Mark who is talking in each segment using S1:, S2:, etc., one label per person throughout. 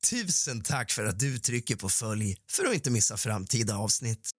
S1: Tusen tack för att du trycker på följ för att inte missa framtida avsnitt.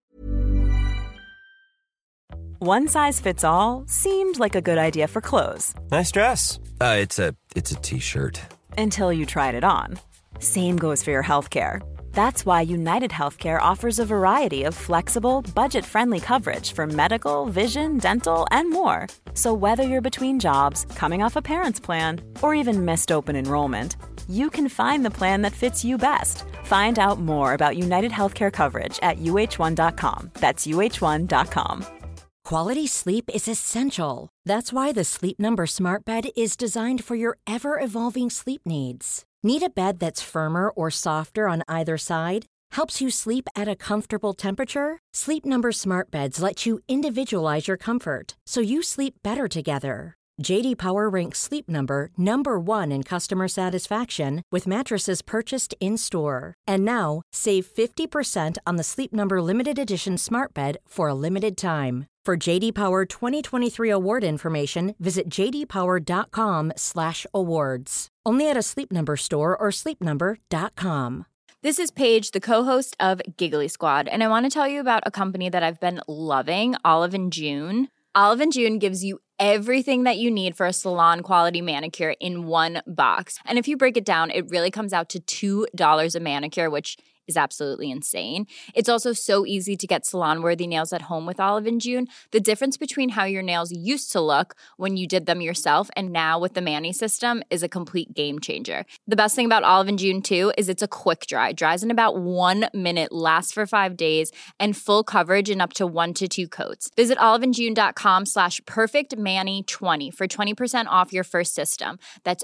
S2: One size fits all seemed like a good idea for clothes.
S3: Nice dress. It's a t-shirt.
S2: Until you tried it on. Same goes for your healthcare. That's why United Healthcare offers a variety of flexible, budget-friendly coverage for medical, vision, dental, and more. So whether you're between jobs, coming off a parent's plan, or even missed open enrollment, you can find the plan that fits you best. Find out more about United Healthcare coverage at uh1.com. That's uh1.com.
S4: Quality sleep is essential. That's why the Sleep Number Smart Bed is designed for your ever-evolving sleep needs. Need a bed that's firmer or softer on either side? Helps you sleep at a comfortable temperature? Sleep Number Smart Beds let you individualize your comfort so you sleep better together. JD Power ranks Sleep Number #1 in customer satisfaction with mattresses purchased in-store. And now, save 50% on the Sleep Number Limited Edition Smart Bed for a limited time. For JD Power 2023 award information, visit jdpower.com/awards. Only at a Sleep Number store or sleepnumber.com.
S5: This is Paige, the co-host of Giggly Squad, and I want to tell you about a company that I've been loving, Olive & June. Olive & June gives you everything that you need for a salon-quality manicure in one box. And if you break it down, it really comes out to $2 a manicure, which is absolutely insane. It's also so easy to get salon-worthy nails at home with Olive & June. The difference between how your nails used to look when you did them yourself and now with the Mani system is a complete game changer. The best thing about Olive & June, too, is it's a quick dry. Dries in about 1 minute, lasts for 5 days, and full coverage in up to 1 to 2 coats. Visit oliveandjune.com/perfectmani20 for 20% off your first system. That's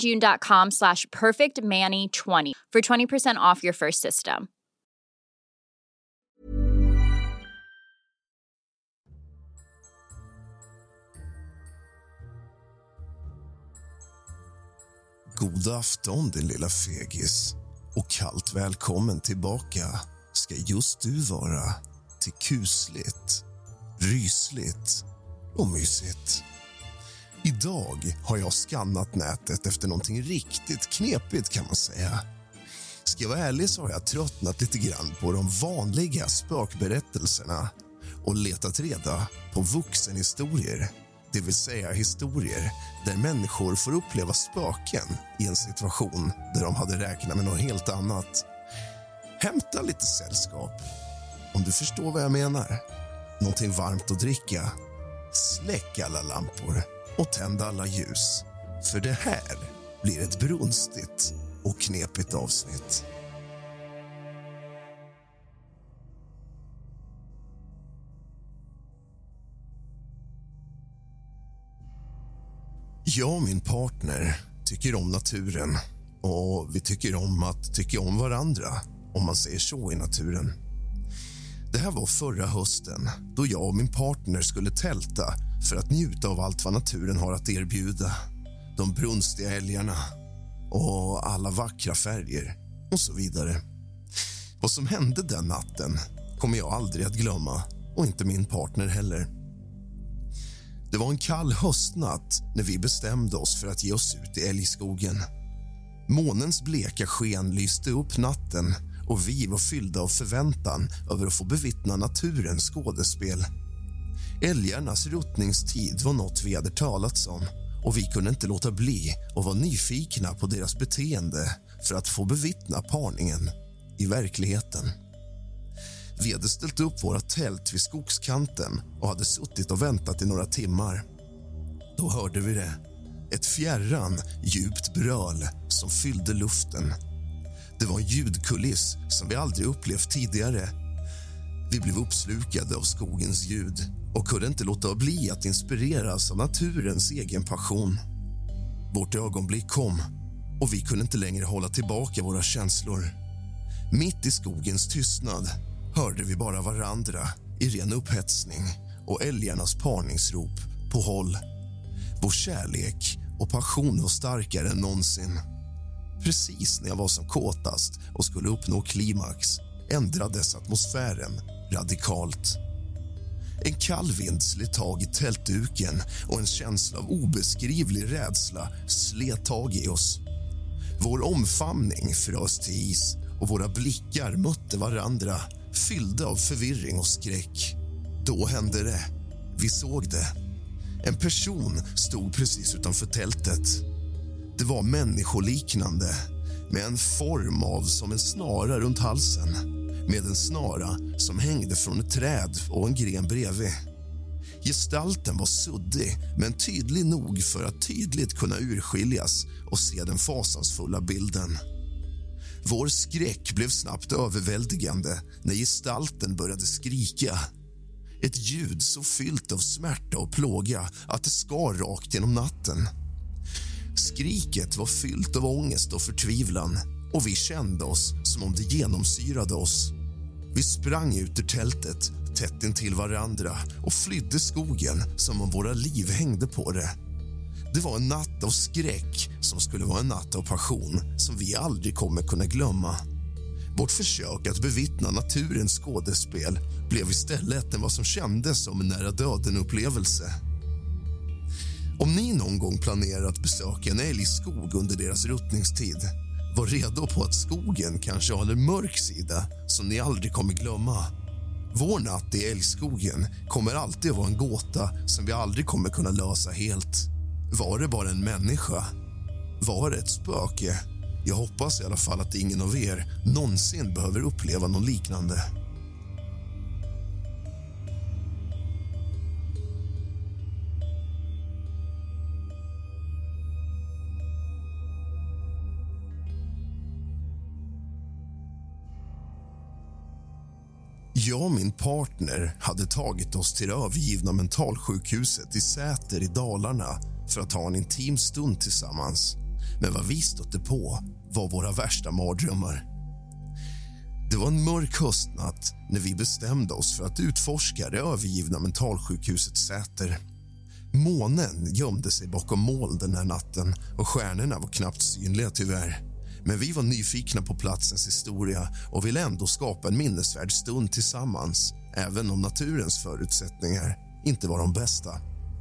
S5: oliveandjune.com/perfectmani20 for 20% off your first system.
S1: God afton din lilla fegis och kallt välkommen tillbaka ska just du vara till kusligt, rysligt och mysigt. Idag har jag skannat nätet efter någonting riktigt knepigt kan man säga. Ska jag vara ärlig så har jag tröttnat lite grann på de vanliga spökberättelserna och letat reda på vuxenhistorier, det vill säga historier där människor får uppleva spöken i en situation där de hade räknat med något helt annat. Hämta lite sällskap, om du förstår vad jag menar. Någonting varmt att dricka, släck alla lampor och tänd alla ljus. För det här blir ett brunstigt och knepigt avsnitt. Jag och min partner tycker om naturen och vi tycker om att tycka om varandra, om man säger så i naturen. Det här var förra hösten då jag och min partner skulle tälta för att njuta av allt vad naturen har att erbjuda. De brunstiga älgarna och alla vackra färger och så vidare. Vad som hände den natten kommer jag aldrig att glömma och inte min partner heller. Det var en kall höstnatt när vi bestämde oss för att ge oss ut i älgskogen. Månens bleka sken lyste upp natten och vi var fyllda av förväntan över att få bevittna naturens skådespel. Älgarnas ruttningstid var något vi hade talats om och vi kunde inte låta bli och var nyfikna på deras beteende för att få bevittna parningen i verkligheten. Vi hade ställt upp våra tält vid skogskanten och hade suttit och väntat i några timmar. Då hörde vi det. Ett fjärran, djupt bröl som fyllde luften. Det var en ljudkuliss som vi aldrig upplevt tidigare. Vi blev uppslukade av skogens ljud och kunde inte låta bli att inspireras av naturens egen passion. Vårt ögonblick kom och vi kunde inte längre hålla tillbaka våra känslor. Mitt i skogens tystnad hörde vi bara varandra i ren upphetsning och älgarnas parningsrop på håll. Vår kärlek och passion var starkare än någonsin. Precis när jag var som kåtast och skulle uppnå klimax ändrades atmosfären radikalt. En kall vind slet tag i tältduken och en känsla av obeskrivlig rädsla slet tag i oss. Vår omfamning frös till is och våra blickar mötte varandra, fyllda av förvirring och skräck. Då hände det. Vi såg det. En person stod precis utanför tältet. Det var människoliknande, med en form av som en snara runt halsen, med en snara som hängde från ett träd och en gren bredvid. Gestalten var suddig, men tydlig nog för att tydligt kunna urskiljas och se den fasansfulla bilden. Vår skräck blev snabbt överväldigande när gestalten började skrika. Ett ljud så fyllt av smärta och plåga att det skar rakt genom natten. Skriket var fyllt av ångest och förtvivlan, och vi kände oss som om det genomsyrade oss. Vi sprang ut ur tältet, tätt intill varandra, och flydde skogen som om våra liv hängde på det. Det var en natt av skräck som skulle vara en natt av passion som vi aldrig kommer kunna glömma. Vårt försök att bevittna naturens skådespel blev istället vad som kändes som en nära döden-upplevelse. Om ni någon gång planerar att besöka en älgskog under deras ruttningstid, var redo på att skogen kanske har en mörk sida som ni aldrig kommer glömma. Vår natt i älgskogen kommer alltid att vara en gåta som vi aldrig kommer kunna lösa helt. Var det bara en människa? Var det ett spöke? Jag hoppas i alla fall att ingen av er någonsin behöver uppleva något liknande. Jag och min partner hade tagit oss till det övergivna mentalsjukhuset i Säter i Dalarna för att ha en intim stund tillsammans. Men vad vi stötte på var våra värsta mardrömmar. Det var en mörk höstnatt när vi bestämde oss för att utforska det övergivna mentalsjukhuset Säter. Månen gömde sig bakom moln den här natten och stjärnorna var knappt synliga tyvärr. Men vi var nyfikna på platsens historia och ville ändå skapa en minnesvärd stund tillsammans, även om naturens förutsättningar inte var de bästa.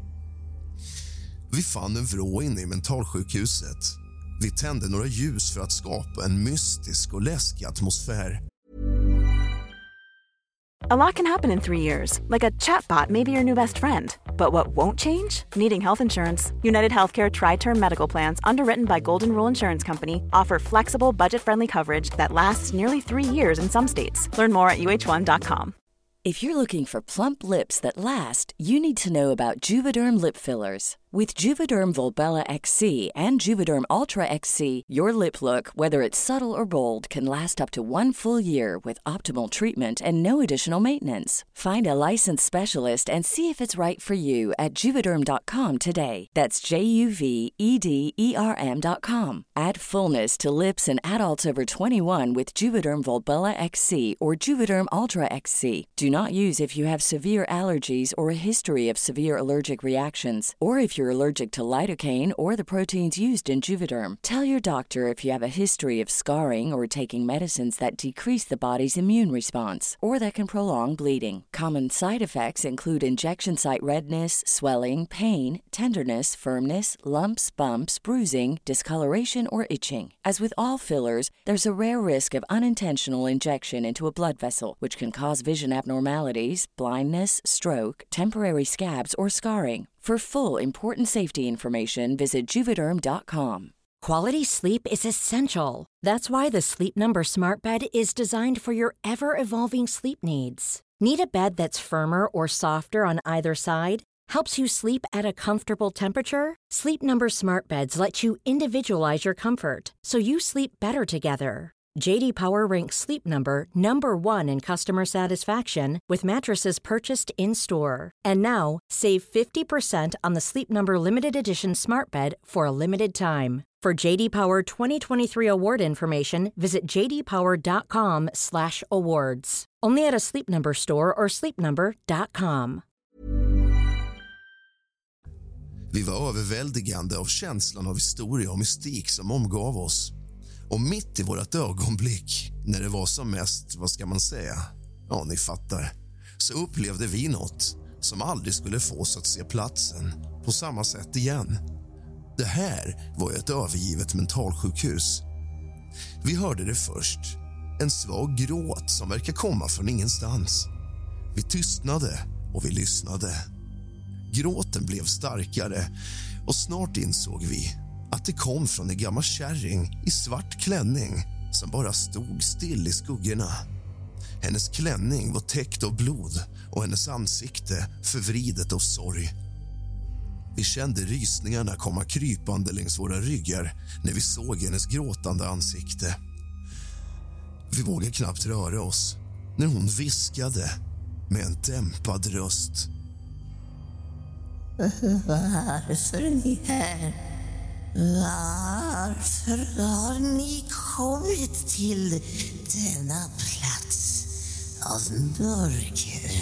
S1: Vi fann en vrå inne i mentalsjukhuset. Vi tände några ljus för att skapa en mystisk och läskig atmosfär.
S2: A lot can happen in 3 years, like a chatbot may be your new best friend. But what won't change? Needing health insurance. United Healthcare Tri-Term Medical Plans, underwritten by Golden Rule Insurance Company, offer flexible, budget-friendly coverage that lasts nearly 3 years in some states. Learn more at uh1.com.
S6: If you're looking for plump lips that last, you need to know about Juvederm lip fillers. With Juvederm Volbella XC and Juvederm Ultra XC, your lip look, whether it's subtle or bold, can last up to 1 full year with optimal treatment and no additional maintenance. Find a licensed specialist and see if it's right for you at Juvederm.com today. That's JUVEDERM.com. Add fullness to lips in adults over 21 with Juvederm Volbella XC or Juvederm Ultra XC. Do not use if you have severe allergies or a history of severe allergic reactions, or if you're allergic to lidocaine or the proteins used in Juvederm. Tell your doctor if you have a history of scarring or taking medicines that decrease the body's immune response or that can prolong bleeding. Common side effects include injection site redness, swelling, pain, tenderness, firmness, lumps, bumps, bruising, discoloration, or itching. As with all fillers, there's a rare risk of unintentional injection into a blood vessel, which can cause vision abnormalities, blindness, stroke, temporary scabs, or scarring. For full, important safety information, visit Juvederm.com.
S4: Quality sleep is essential. That's why the Sleep Number Smart Bed is designed for your ever-evolving sleep needs. Need a bed that's firmer or softer on either side? Helps you sleep at a comfortable temperature? Sleep Number Smart Beds let you individualize your comfort so you sleep better together. J.D. Power ranks Sleep Number #1 in customer satisfaction with mattresses purchased in-store. And now, save 50% on the Sleep Number Limited Edition Smart Bed for a limited time. For J.D. Power 2023 award information, visit jdpower.com/awards. Only at a Sleep Number store or sleepnumber.com.
S1: Vi var överväldigande av känslan av historia och mystik som omgav oss. Och mitt i vårt ögonblick, när det var som mest, vad ska man säga? Ja, ni fattar. Så upplevde vi något som aldrig skulle få oss att se platsen på samma sätt igen. Det här var ett övergivet mentalsjukhus Vi hörde det först. En svag gråt som verkar komma från ingenstans. Vi tystnade och vi lyssnade. Gråten blev starkare och snart insåg vi att det kom från en gammal kärring i svart klänning som bara stod still i skuggorna. Hennes klänning var täckt av blod och hennes ansikte förvridet av sorg. Vi kände rysningarna komma krypande längs våra ryggar när vi såg hennes gråtande ansikte. Vi vågade knappt röra oss när hon viskade med en dämpad röst.
S7: Varför är ni här? Varför har ni kommit till denna plats av mörker?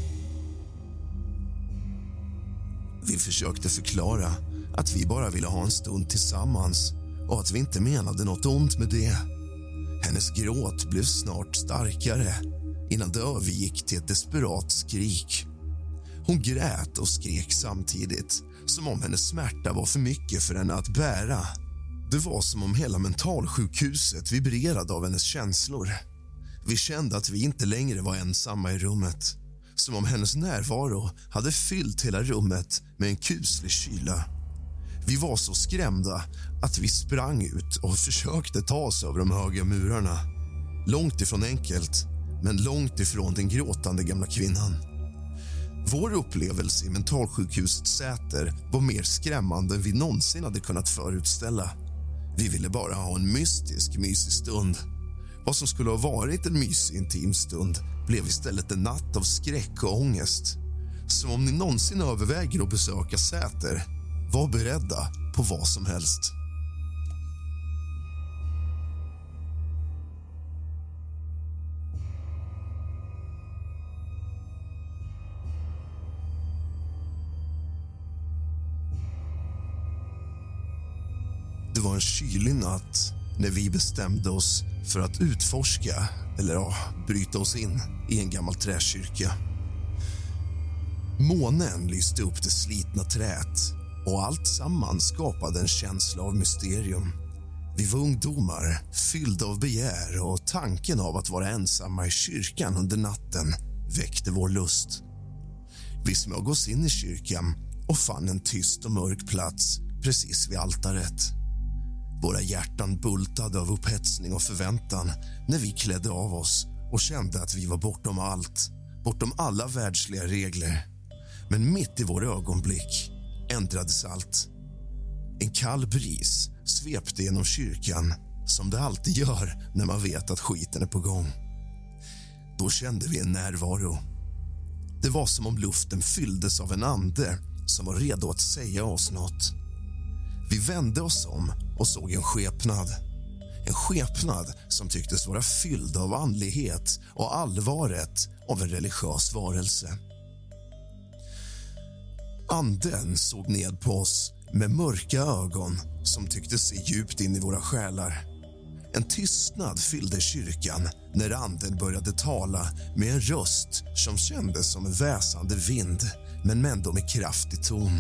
S1: Vi försökte förklara att vi bara ville ha en stund tillsammans och att vi inte menade något ont med det. Hennes gråt blev snart starkare innan det övergick till ett desperat skrik. Hon grät och skrek samtidigt, som om hennes smärta var för mycket för henne att bära. Det var som om hela mentalsjukhuset vibrerade av hennes känslor. Vi kände att vi inte längre var ensamma i rummet. Som om hennes närvaro hade fyllt hela rummet med en kuslig kyla. Vi var så skrämda att vi sprang ut och försökte ta oss över de höga murarna. Långt ifrån enkelt, men långt ifrån den gråtande gamla kvinnan. Vår upplevelse i mentalsjukhusets säter var mer skrämmande än vi någonsin hade kunnat förutställa. Vi ville bara ha en mysig stund. Vad som skulle ha varit en mysig intim stund blev istället en natt av skräck och ångest. Så om ni någonsin överväger att besöka Säter, var beredda på vad som helst. Det var en kylig natt när vi bestämde oss för att utforska, bryta oss in i en gammal träkyrka. Månen lyste upp det slitna träet och allt samman skapade en känsla av mysterium. Vi var ungdomar, fyllda av begär och tanken av att vara ensamma i kyrkan under natten väckte vår lust. Vi smög oss in i kyrkan och fann en tyst och mörk plats precis vid altaret. Våra hjärtan bultade av upphetsning och förväntan när vi klädde av oss och kände att vi var bortom allt, bortom alla världsliga regler. Men mitt i vår ögonblick ändrades allt. En kall bris svepte genom kyrkan som det alltid gör när man vet att skiten är på gång. Då kände vi en närvaro. Det var som om luften fylldes av en ande som var redo att säga oss något. Vi vände oss om och såg en skepnad. En skepnad som tycktes vara fylld av andlighet och allvaret av en religiös varelse. Anden såg ned på oss med mörka ögon som tycktes se djupt in i våra själar. En tystnad fyllde kyrkan när anden började tala med en röst som kändes som en väsande vind, men ändå med kraftig ton.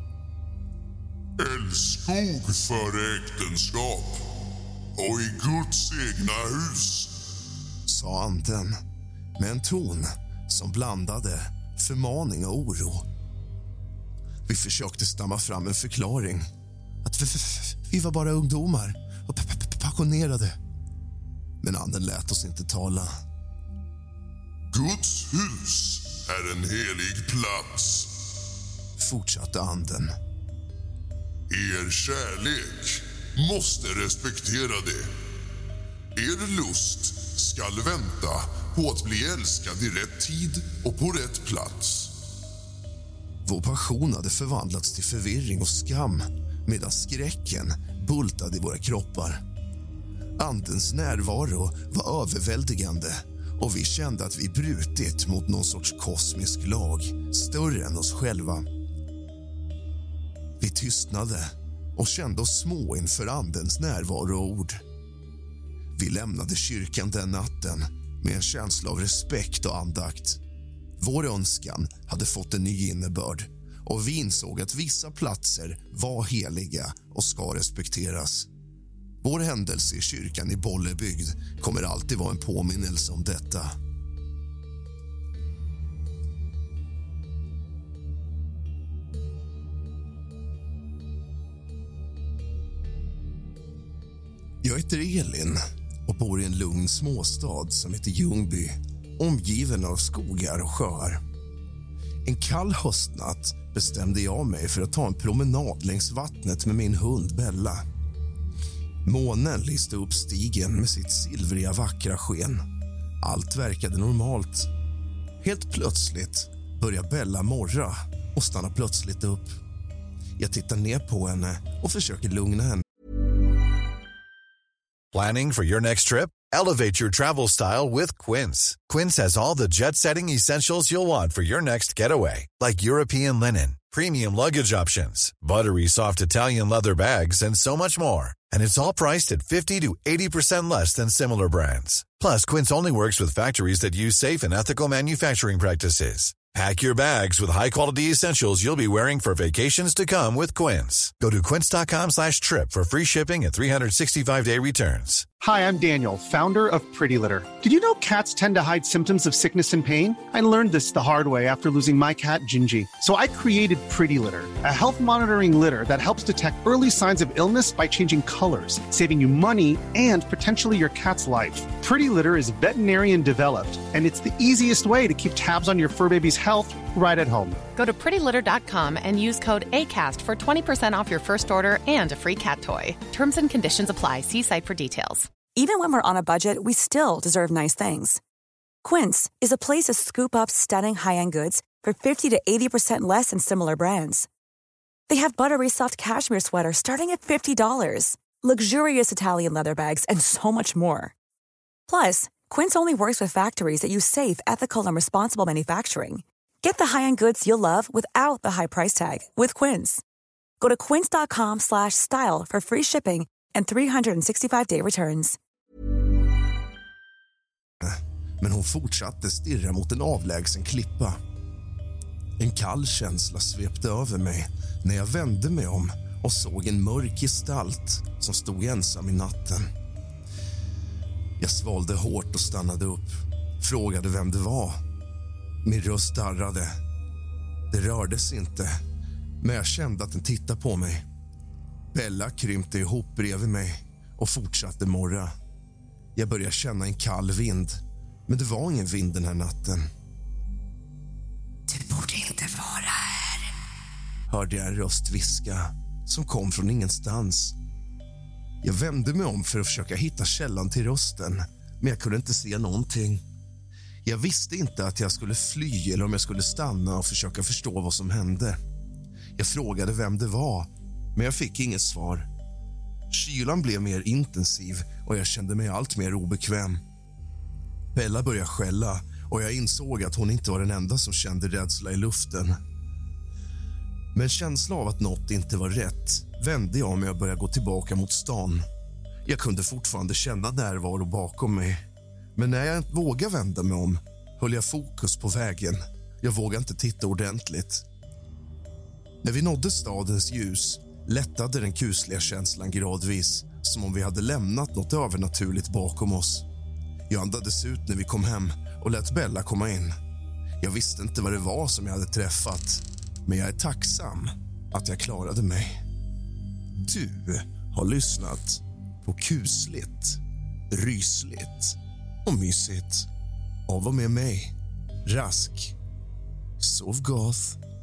S8: Älskog före äktenskap och i Guds egna hus,
S1: sa anden med en ton som blandade förmaning och oro. Vi försökte stamma fram en förklaring. Att vi var bara ungdomar och passionerade. Men anden lät oss inte tala.
S8: Guds hus är en helig plats,
S1: fortsatte anden.
S8: Er kärlek måste respektera det. Er lust skall vänta på att bli älskad i rätt tid och på rätt plats.
S1: Vår passion hade förvandlats till förvirring och skam medan skräcken bultade i våra kroppar. Andens närvaro var överväldigande och vi kände att vi brutit mot någon sorts kosmisk lag, större än oss själva. Vi tystnade och kände oss små inför andens närvaro och ord. Vi lämnade kyrkan den natten med en känsla av respekt och andakt. Vår önskan hade fått en ny innebörd och vi insåg att vissa platser var heliga och ska respekteras. Vår händelse i kyrkan i Bollebygd kommer alltid vara en påminnelse om detta. Jag heter Elin och bor i en lugn småstad som heter Ljungby, omgiven av skogar och sjöar. En kall höstnatt bestämde jag mig för att ta en promenad längs vattnet med min hund Bella. Månen lyste upp stigen med sitt silvriga vackra sken. Allt verkade normalt. Helt plötsligt börjar Bella morra och stannar plötsligt upp. Jag tittar ner på henne och försöker lugna henne.
S9: Planning for your next trip? Elevate your travel style with Quince. Quince has all the jet-setting essentials you'll want for your next getaway, like European linen, premium luggage options, buttery soft Italian leather bags, and so much more. And it's all priced at 50 to 80% less than similar brands. Plus, Quince only works with factories that use safe and ethical manufacturing practices. Pack your bags with high-quality essentials you'll be wearing for vacations to come with Quince. Go to quince.com/trip for free shipping and 365-day returns.
S10: Hi, I'm Daniel, founder of Pretty Litter. Did you know cats tend to hide symptoms of sickness and pain? I learned this the hard way after losing my cat, Gingy. So I created Pretty Litter, a health monitoring litter that helps detect early signs of illness by changing colors, saving you money and potentially your cat's life. Pretty Litter is veterinarian developed, and it's the easiest way to keep tabs on your fur baby's health right at home.
S11: Go to prettylitter.com and use code ACAST for 20% off your first order and a free cat toy. Terms and conditions apply. See site for details.
S12: Even when we're on a budget, we still deserve nice things. Quince is a place to scoop up stunning high-end goods for 50 to 80% less than similar brands. They have buttery soft cashmere sweaters starting at $50, luxurious Italian leather bags, and so much more. Plus, Quince only works with factories that use safe, ethical, and responsible manufacturing. Get the high-end goods you'll love without the high price tag with Quince. Go to quince.com/style for free shipping and 365-day returns.
S1: Men hon fortsatte stirra mot en avlägsen klippa. En kall känsla svepte över mig när jag vände mig om och såg en mörk gestalt som stod ensam i natten. Jag svalde hårt och stannade upp, frågade vem det var. Min röst darrade. Det rördes inte, men jag kände att den tittade på mig. Bella krympte ihop bredvid mig och fortsatte morra. Jag började känna en kall vind, men det var ingen vind den här natten.
S7: Du borde inte vara här,
S1: hörde jag en röst viska som kom från ingenstans. Jag vände mig om för att försöka hitta källan till rösten, men jag kunde inte se någonting. Jag visste inte att jag skulle fly eller om jag skulle stanna och försöka förstå vad som hände. Jag frågade vem det var, men jag fick inget svar. Kylan blev mer intensiv och jag kände mig allt mer obekväm. Bella började skälla och jag insåg att hon inte var den enda som kände rädsla i luften. Med en känsla av att något inte var rätt vände jag mig och började gå tillbaka mot stan. Jag kunde fortfarande känna närvaro bakom mig. Men när jag vågade vända mig om höll jag fokus på vägen. Jag vågade inte titta ordentligt. När vi nådde stadens ljus lättade den kusliga känslan gradvis, som om vi hade lämnat något övernaturligt bakom oss. Jag andades ut när vi kom hem och lät Bella komma in. Jag visste inte vad det var som jag hade träffat, men jag är tacksam att jag klarade mig. Du har lyssnat på kusligt, rysligt och mysigt av och med mig, Rask. Sov gott.